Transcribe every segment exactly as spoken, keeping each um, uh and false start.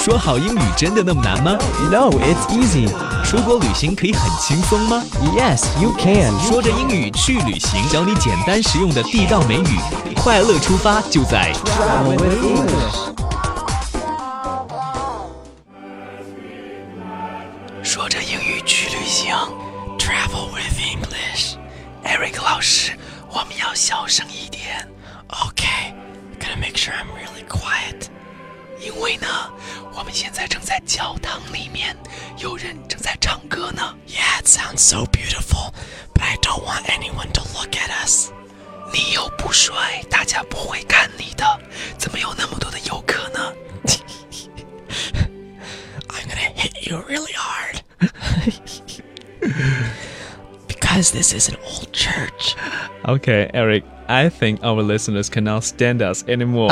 说好英语真的那么难吗？ No, it's easy. 出国旅行可以很轻松吗？ Yes, you can. 说着英语去旅行，教你简单实用的地道美语，快乐出发就在 Travel with English. 说着英语去旅行 Travel with English. Eric 老师，我们要小声一点。 Okay, gotta make sure I'm really quiet. 因为呢，我们现在正在教堂里面，有人正在唱歌呢。 Yeah, it sounds so beautiful, but I don't want anyone to look at us. 你又不帅，大家不会看你的，怎么有那么多的游客呢？ I'm gonna hit you really hard. Because this is an old church. Okay, Eric, I think our listeners cannot stand us anymore.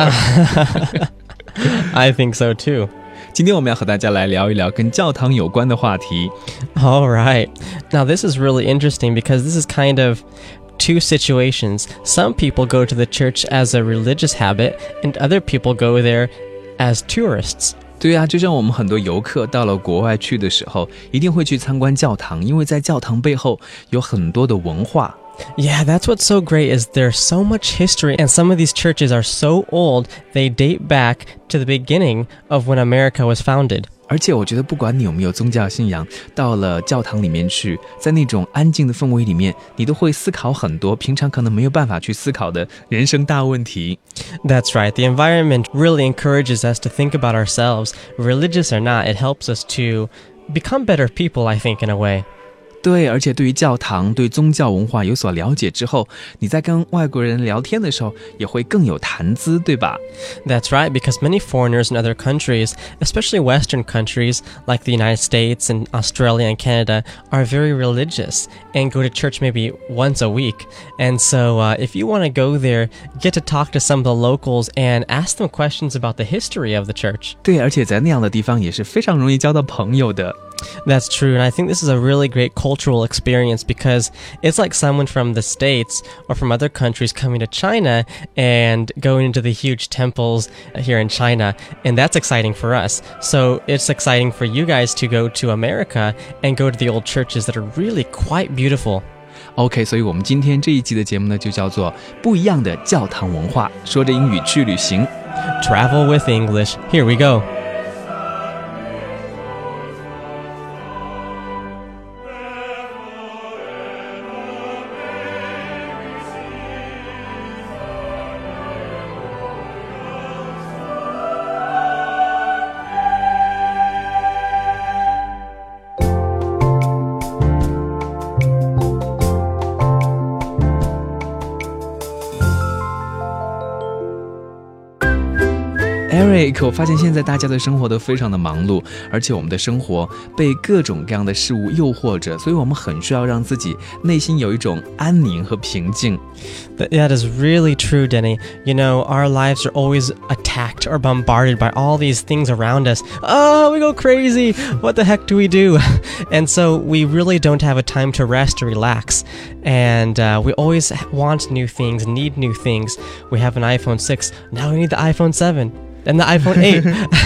I think so too. 今天我们要和大家来聊一聊跟教堂有关的话题。 All right. Now this is really interesting because this is kind of two situations. Some people go to the church as a religious habit, and other people go there as tourists. 对啊，就像我们很多游客到了国外去的时候，一定会去参观教堂，因为在教堂背后有很多的文化。 Yeah, that's what's so great is there's so much history, and some of these churches are so old, they date back to the beginning of when America was founded. 而且我觉得不管你有没有宗教信仰，到了教堂里面去，在那种安静的氛围里面，你都会思考很多平常可能没有办法去思考的人生大问题。 That's right. The environment really encourages us to think about ourselves. Religious or not, it helps us to become better people, I think, in a way. 对，而且对于教堂、对宗教文化有所了解之后，你在跟外国人聊天的时候也会更有谈资，对吧？ That's right, because many foreigners in other countries, especially Western countries like the United States and Australia and Canada, are very religious and go to church maybe once a week. And so uh, if you want to go there, get to talk to some of the locals and ask them questions about the history of the church. 对，而且在那样的地方也是非常容易交到朋友的。 That's true, and I think this is a really great cultural experience because it's like someone from the States or from other countries coming to China and going into the huge temples here in China, and that's exciting for us. So it's exciting for you guys to go to America and go to the old churches that are really quite beautiful. OK, 所以我们今天这一期的节目呢，就叫做不一样的教堂文化，说着英语去旅行。 Travel with English. Here we go. Eric, 我发现现在大家的生活都非常的忙碌，而且我们的生活被各种各样的事物诱惑着，所以我们很需要让自己内心有一种安宁和平静。 That is really true, Denny. You know, our lives are always attacked or bombarded by all these things around us. Oh, we go crazy. What the heck do we do? And so we really don't have a time to rest or relax. And uh, we always want new things, need new things. We have an iPhone six. Now we need the iPhone seven. And the iPhone eight.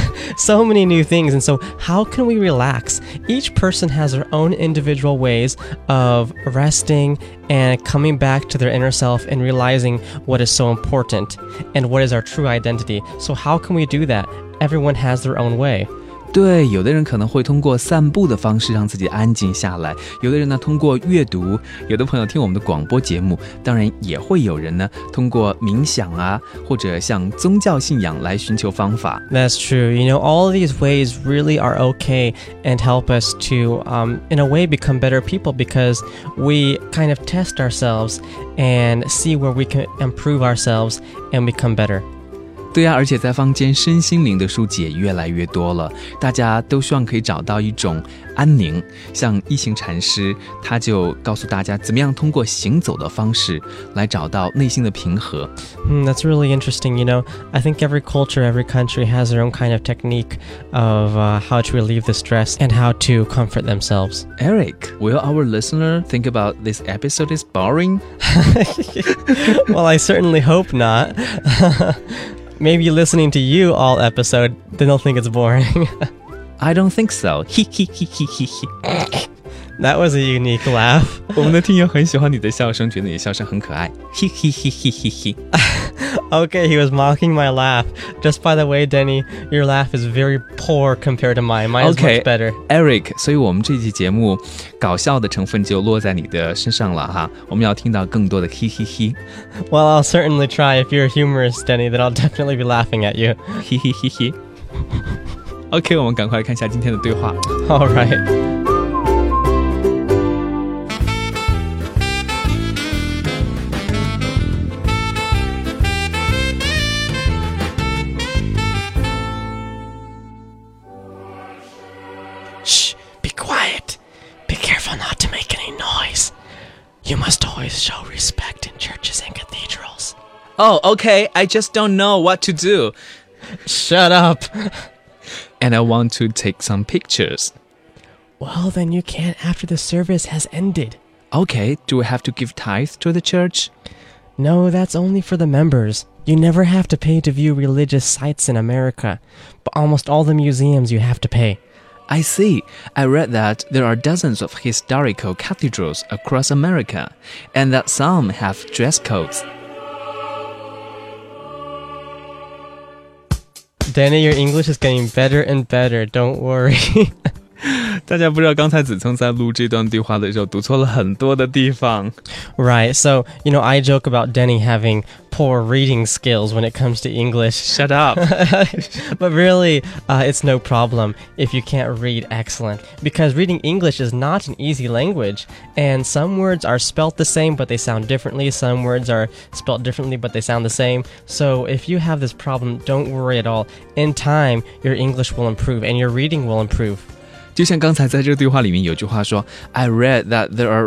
So many new things. And so how can we relax? Each person has their own individual ways of resting and coming back to their inner self and realizing what is so important and what is our true identity. So how can we do that? Everyone has their own way. 对，有的人可能会通过散步的方式让自己安静下来，有的人呢通过阅读，有的朋友听我们的广播节目，当然也会有人呢通过冥想啊，或者像宗教信仰来寻求方法。 That's true. You know, all of these ways really are okay and help us to, um, in a way, become better people because we kind of test ourselves and see where we can improve ourselves and become better. 对啊，而且在坊间身心灵的书籍也越来越多了，大家都希望可以找到一种安宁。像一行禅师，他就告诉大家怎么样通过行走的方式来找到内心的平和。 Hmm, that's really interesting. You know, I think every culture, every country has their own kind of technique of uh, how to relieve the stress and how to comfort themselves. Eric, will our listener think about this episode is boring? Well, I certainly hope not. maybe listening to you all episode, then they'll think it's boring. I don't think so. He he he he he he. That was a unique laugh. 我们的听友很喜欢你的笑声，觉得你的笑声很可爱。He he he he he he. Okay, he was mocking my laugh. Just by the way, Denny, your laugh is very poor compared to mine. Mine is Okay, much better. Eric, 所以我们这期节目搞笑的成分就落在你的身上了哈。我们要听到更多的 he he he. Well, I'll certainly try. If you're humorous, Denny, then I'll definitely be laughing at you. He he he he. OK, 我们赶快看一下今天的对话。 All right. Shh, be quiet. Be careful not to make any noise. You must always show respect in churches and cathedrals. Oh, okay, I just don't know what to do. Shut up. And I want to take some pictures. Well, then you can't after the service has ended. Okay, do we have to give tithe to the church? No, that's only for the members. You never have to pay to view religious sites in America, but almost all the museums you have to pay. I see. I read that there are dozens of historical cathedrals across America, and that some have dress codes. Danny, your English is getting better and better. Don't worry. 大家不知道刚才子聪在录这段对话的时候读错了很多的地方。 Right, so, you know, I joke about Denny having poor reading skills when it comes to English. Shut up. But really, uh, it's no problem if you can't read excellent. Because reading English is not an easy language. And some words are spelt the same, but they sound differently. Some words are spelt differently, but they sound the same. So if you have this problem, don't worry at all. In time, your English will improve and your reading will improve. 就像刚才在这个对话里面有句话说 I read that there are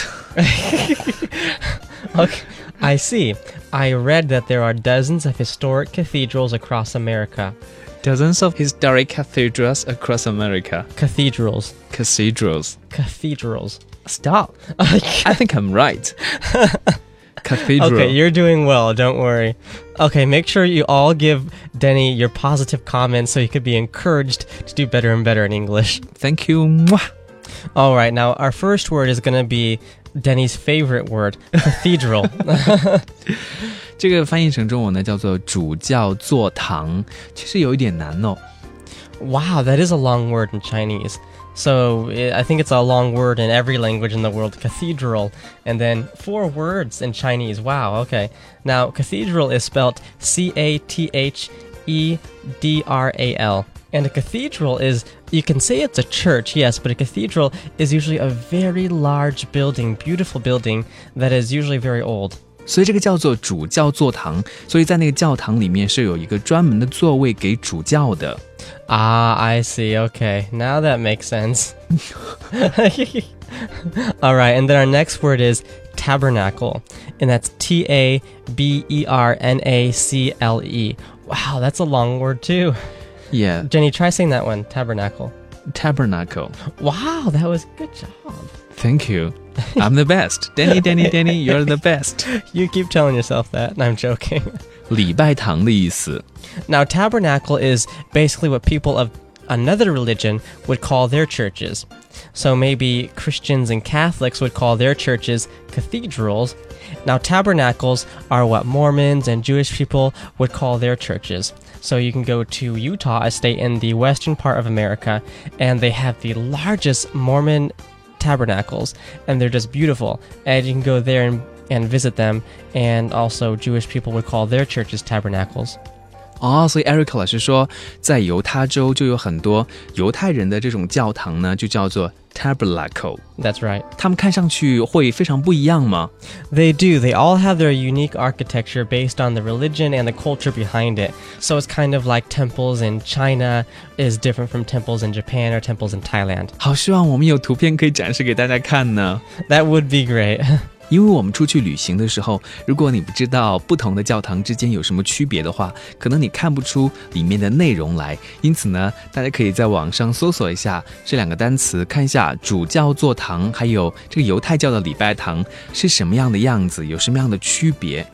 Okay, I see. I read that there are dozens of historic cathedrals across America. Dozens of historic cathedrals across America. Cathedrals. Cathedrals. Cathedrals. Stop. I think I'm right. Cathedral. Okay, you're doing well, don't worry. Okay, make sure you all give Denny your positive comments so he could be encouraged to do better and better in English. Thank you. Mwah. All right, now our first word is going to be Denny's favorite word, cathedral. 这个翻译成中文呢叫做主教座堂，其实有一点难哦。 Wow, that is a long word in Chinese. So I think it's a long word in every language in the world, cathedral, and then four words in Chinese. Wow, okay. Now, cathedral is spelled C A T H E D R A L. And a cathedral is, you can say it's a church, yes, but a cathedral is usually a very large building, beautiful building that is usually very old. 所以这个叫做主教座堂，所以在那个教堂里面是有一个专门的座位给主教的。 Ah, I see. Okay, now that makes sense. All right, and then our next word is tabernacle, and that's T A B E R N A C L E. Wow, that's a long word too. Yeah. Jenny, try saying that one, tabernacle. Tabernacle. Wow, that was good job. Thank you. I'm the best. Danny, Danny, Danny, you're the best. You keep telling yourself that, and I'm joking. 礼拜堂的意思。 Now, tabernacle is basically what people of another religion would call their churches. So maybe Christians and Catholics would call their churches cathedrals. Now, tabernacles are what Mormons and Jewish people would call their churches. So you can go to Utah, a state in the western part of America, and they have the largest Mormon tabernacles, and they're just beautiful. And you can go there and, and visit them, and also Jewish people would call their churches tabernacles. 哦，所以 Eric 老师说，在犹他州就有很多犹太人的这种教堂呢，就叫做 tabernacle. That's right. 他们看上去会非常不一样吗？ They do. They all have their unique architecture based on the religion and the culture behind it. So it's kind of like temples in China is different from temples in Japan or temples in Thailand. 好希望我们有图片可以展示给大家看呢。 That would be great. 因为我们出去旅行的时候，如果你不知道不同的教堂之间有什么区别的话，可能你看不出里面的内容来。因此呢，大家可以在网上搜索一下这两个单词，看一下主教座堂还有这个犹太教的礼拜堂是什么样的样子，有什么样的区别。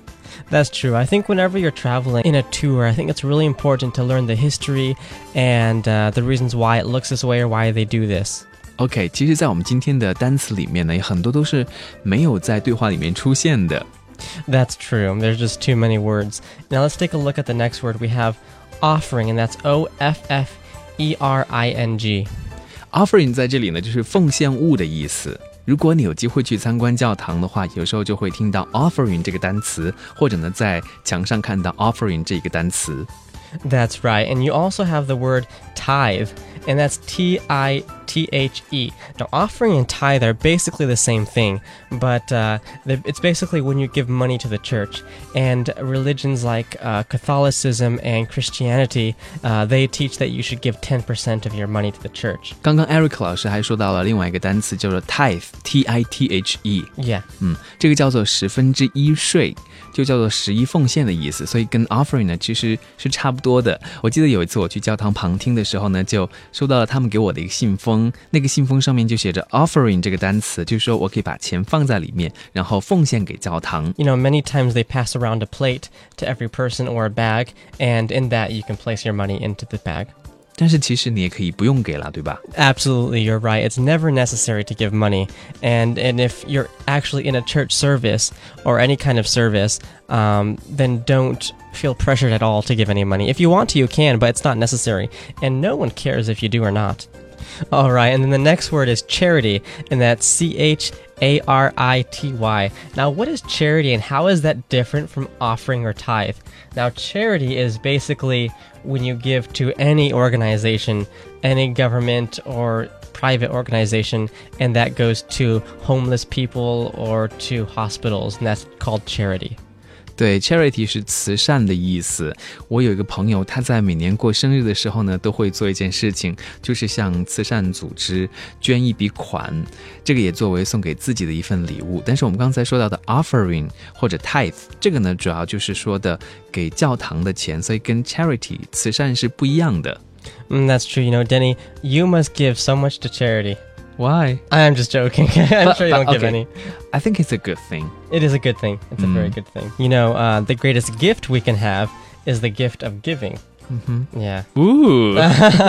That's true. I think whenever you're traveling in a tour, I think it's really important to learn the history and uh, the reasons why it looks this way or why they do this. OK， 其实在我们今天的单词里面呢，有很多都是没有在对话里面出现的。 That's true. There's just too many words. Now let's take a look at the next word. We have offering, and that's O F F E R I N G.Offering 在这里呢，就是奉献物的意思。如果你有机会去参观教堂的话，有时候就会听到 offering 这个单词，或者呢在墙上看到 offering 这个单词。 That's right. And you also have the word tithe, and that's T I T H E. Now, offering and tithe are basically the same thing, but uh, it's basically when you give money to the church. And religions like uh, Catholicism and Christianity, uh, they teach that you should give ten percent of your money to the church. 刚刚 Eric 老师还说到了另外一个单词叫做 tithe, T I T H E. Yeah. 嗯，这个叫做十分之一税，就叫做十一奉献的意思，所以跟 offering 呢其实是差不多的。我记得有一次我去教堂旁听的时候呢，就收到了他们给我的一个信封，那个信封上面就写着 offering 这个单词，就是说我可以把钱放在里面，然后奉献给教堂。 You know, many times they pass around a plate to every person or a bag, and in that you can place your money into the bag. 但是其实你也可以不用给了，对吧？ Absolutely, you're right. It's never necessary to give money. And and if you're actually in a church service or any kind of service, um, then don't feel pressured at all to give any money. If you want to, you can, but it's not necessary. And no one cares if you do or not. All right, and then the next word is charity, and that's C H A R I T Y. Now, what is charity, and how is that different from offering or tithe? Now, charity is basically when you give to any organization, any government or private organization, and that goes to homeless people or to hospitals, and that's called charity. 对 charity 是慈善的意思。我有一个朋友，他在每年过生日的时候呢，都会做一件事情，就是向慈善组织捐一笔款，这个也作为送给自己的一份礼物。但是我们刚才说到的 offering 或者 tithe， 这个呢主要就是说的给教堂的钱，所以跟 charity 慈善是不一样的。 Mm, that's true. You know, Denny, you must give so much to charity.Why? I'm just joking. I'm but, sure you but, don't give okay. any. I think it's a good thing. It is a good thing. It's mm. a very good thing. You know, uh, the greatest gift we can have is the gift of giving. Mm-hmm. Yeah. Ooh.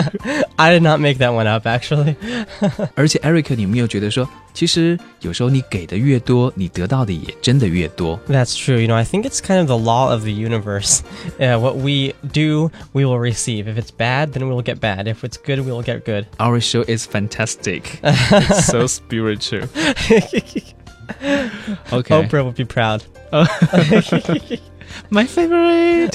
I did not make that one up, actually. 而且 Eric， 你有没有觉得说，其实有时候你给的越多，你得到的也真的越多。 That's true. You know, I think it's kind of the law of the universe. Uh, what we do, we will receive. If it's bad, then we will get bad. If it's good, we will get good. Our show is fantastic. It's so spiritual. Okay. Oprah would be proud. My favorite.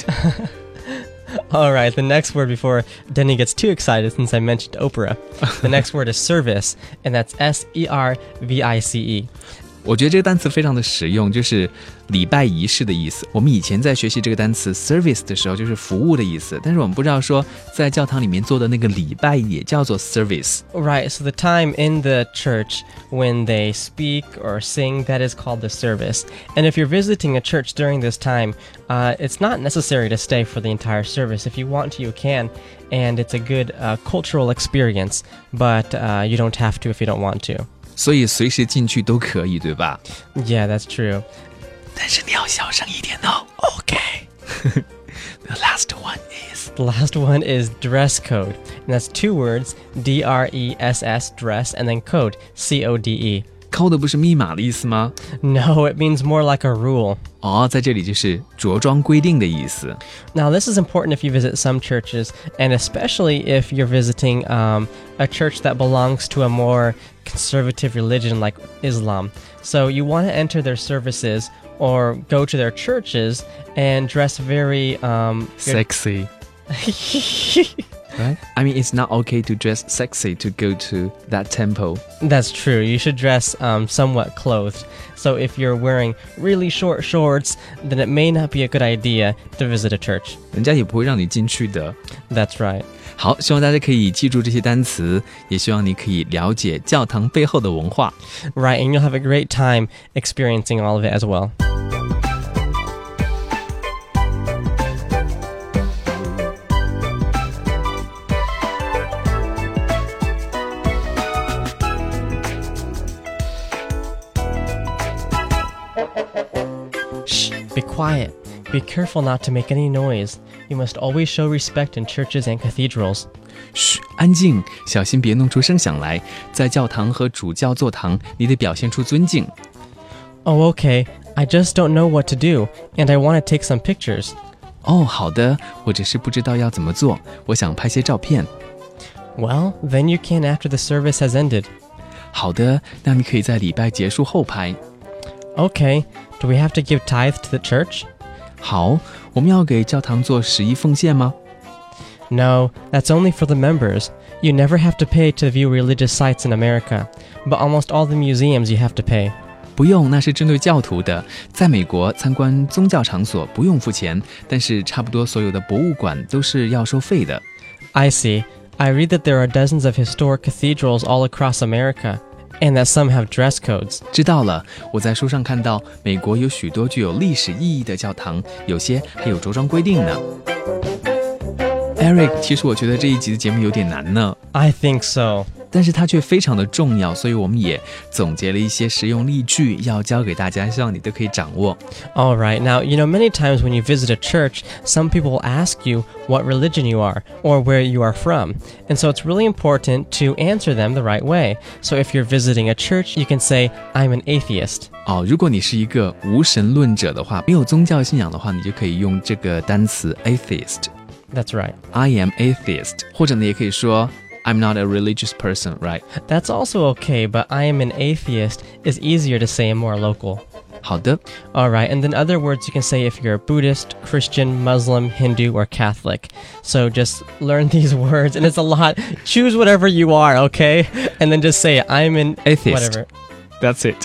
All right, the next word before Denny gets too excited since I mentioned Oprah. The next word is service, and that's S E R V I C E. 我觉得这个单词非常的实用，就是礼拜仪式的意思。我们以前在学习这个单词 service 的时候，就是服务的意思，但是我们不知道说在教堂里面做的那个礼拜也叫做 service. Right, so the time in the church when they speak or sing, that is called the service. And if you're visiting a church during this time, uh, it's not necessary to stay for the entire service. If you want to, you can, and it's a good uh, cultural experience, but uh, you don't have to if you don't want to. 所以随时进去都可以，对吧？ Yeah, that's true. 但是你要小声一点哦 Okay. The last one is... The last one is dress code. And that's two words, D R E S S, dress, and then code, C O D E. Code 不是密码的意思吗？ No, it means more like a rule. 哦，在这里就是着装规定的意思。 Now, this is important if you visit some churches, and especially if you're visiting um, a church that belongs to a more conservative religion like Islam. So you want to enter their services or go to their churches and dress very... Um, Sexy. Right? I mean, it's not okay to dress sexy to go to that temple. That's true. You should dress um, somewhat clothed. So if you're wearing really short shorts, then it may not be a good idea to visit a church. 人家也不会让你进去的。 That's right. 好，希望大家可以记住这些单词，也希望你可以了解教堂背后的文化。 Right, and you'll have a great time experiencing all of it as well. Shh, be quiet. Be careful not to make any noise. You must always show respect in churches and cathedrals. 嘘，安静，小心别弄出声响来。在教堂和主教座堂，你得表现出尊敬。 Oh, okay. I just don't know what to do, and I want to take some pictures. 哦，好的，我只是不知道要怎么做，我想拍些照片。 Well, then you can after the service has ended. 好的，那你可以在礼拜结束后拍。 Okay. Do we have to give tithe to the church? 好，我们要给教堂做十一奉献吗？ No, that's only for the members. You never have to pay to view religious sites in America, but almost all the museums you have to pay. 不用，那是针对教徒的。在美国，参观宗教场所不用付钱，但是差不多所有的博物馆都是要收费的。 I see. I read that there are dozens of historic cathedrals all across America, and that some have dress codes. 知道了，我在书上看到，美国有许多具有历史意义的教堂，有些还有着装规定呢。Eric， 其实我觉得这一集的节目有点难呢。 I think so. 但是它却非常的重要，所以我们也总结了一些实用例句要教给大家，希望你都可以掌握。 All right. Now, you know, many times when you visit a church, some people will ask you what religion you are or where you are from. And so it's really important to answer them the right way. So if you're visiting a church, you can say, I'm an atheist. 哦，如果你是一个无神论者的话，没有宗教信仰的话，你就可以用这个单词 atheist。That's right. I am atheist. 或者呢，也可以说I'm not a religious person, right? That's also okay, but I am an atheist is easier to say and more local. 好的。 All right, and then other words you can say if you're Buddhist, Christian, Muslim, Hindu, or Catholic. So just learn these words, and it's a lot. Choose whatever you are, okay? And then just say, I'm an atheist. Whatever. That's it.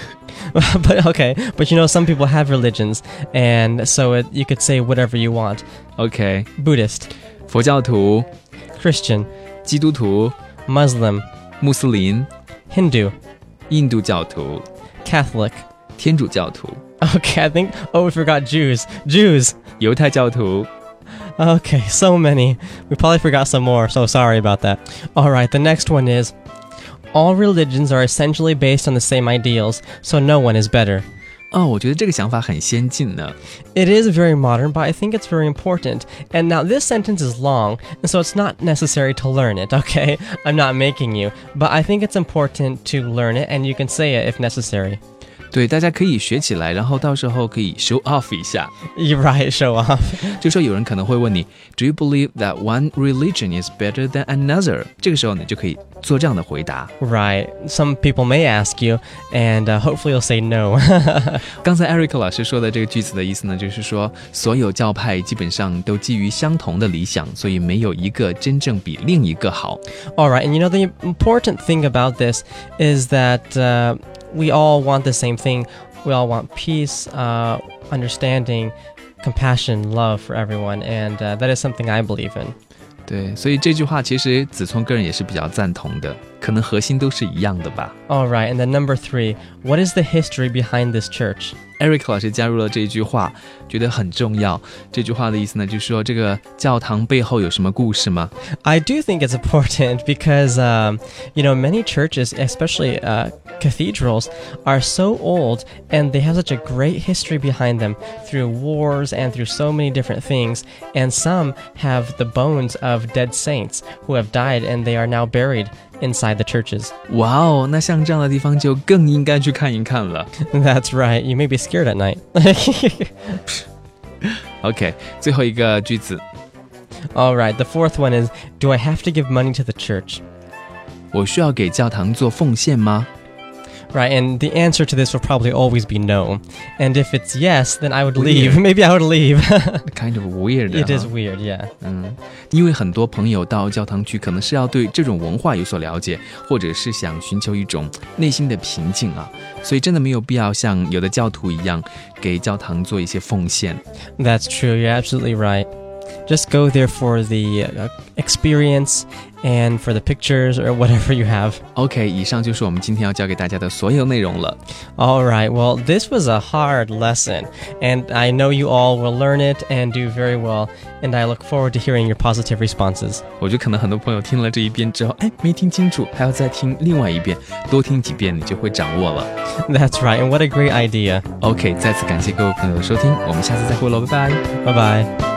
But okay, but you know, some people have religions, and so it, you could say whatever you want. Okay. Buddhist. 佛教徒 Christian. 基督徒 Muslim. 穆斯林 Hindu. 印度教徒 Catholic. 天主教徒 Okay, I think, oh, we forgot Jews. Jews. 犹太教徒 Okay, so many. We probably forgot some more, so sorry about that. All right, the next one is, all religions are essentially based on the same ideals, so no one is better. 哦，我觉得这个想法很先进呢。 It is very modern, but I think it's very important. And now this sentence is long, and so it's not necessary to learn it, okay? I'm not making you, but I think it's important to learn it, and you can say it if necessary. 对，大家可以学起来，然后到时候可以 show off 一下。 You're right, show off. 就说有人可能会问你 Do you believe that one religion is better than another? 这个时候你就可以做这样的回答。 Right. Some people may ask you, and uh, hopefully you'll say no. 刚才 Eric 老师说的这个句子的意思呢，就是说所有教派基本上都基于相同的理想，所以没有一个真正比另一个好。 All right, and you know, the important thing about this is that uh, we all want the same thing. We all want peace, uh, understanding, compassion, love for everyone, and uh, that is something I believe in. 对，所以这句话其实子聪个人也是比较赞同的，可能核心都是一样的吧。 All right, and then number three, what is the history behind this church? Eric 老师加入了这一句话，觉得很重要。这句话的意思呢，就是说这个教堂背后有什么故事吗？ I do think it's important because, um, you know, many churches, especially uh, cathedrals, are so old and they have such a great history behind them through wars and through so many different things. And some have the bones of dead saints who have died and they are now buried inside the churches. 哇哦，那像这样的地方就更应该去看一看了。 That's right. You may be scared at night. OK， 最后一个句子。 All right. The fourth one is, do I have to give money to the church? 我需要给教堂做奉献吗？ Right, and the answer to this will probably always be no. And if it's yes, then I would Weird. leave. Maybe I would leave. Kind of weird. It is 哈 weird, yeah. 嗯，因为很多朋友到教堂去，可能是要对这种文化有所了解，或者是想寻求一种内心的平静啊，所以真的没有必要像有的教徒一样给教堂做一些奉献。 That's true. You're absolutely right. Just go there for the uh, experience and for the pictures or whatever you have. OK， 以上就是我们今天要教给大家的所有内容了。 All right, well, this was a hard lesson, and I know you all will learn it and do very well, and I look forward to hearing your positive responses. 我觉得可能很多朋友听了这一遍之后，哎，没听清楚，还要再听另外一遍，多听几遍你就会掌握了。 That's right, and what a great idea. OK， 再次感谢各位朋友的收听，我们下次再会喽，拜拜， 拜拜。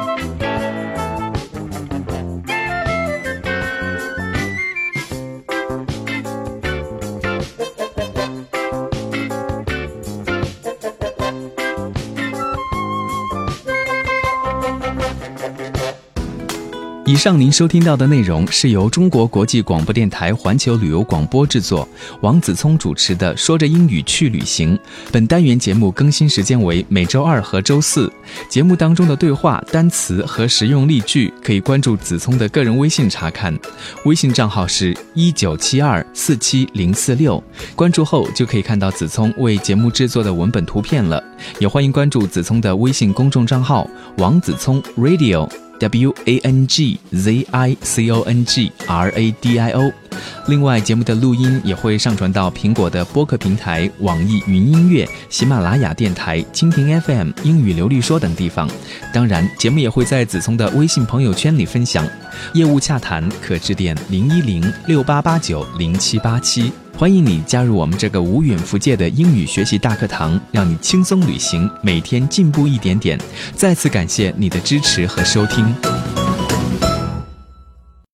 以上您收听到的内容是由中国国际广播电台环球旅游广播制作，王子聪主持的《说着英语去旅行》。本单元节目更新时间为每周二和周四。节目当中的对话、单词和实用例句可以关注子聪的个人微信查看，微信账号是一九七二四七零四六。关注后就可以看到子聪为节目制作的文本图片了。也欢迎关注子聪的微信公众账号王子聪 Radio。W A N G Z I C O N G R A D I O。 另外节目的录音也会上传到苹果的播客平台、网易云音乐、喜马拉雅电台、蜻蜓 F M、 英语流利说等地方。当然节目也会在子聪的微信朋友圈里分享。业务洽谈可致电零一零六八八九零七八七。欢迎你加入我们这个无远弗届的英语学习大课堂，让你轻松旅行，每天进步一点点。再次感谢你的支持和收听。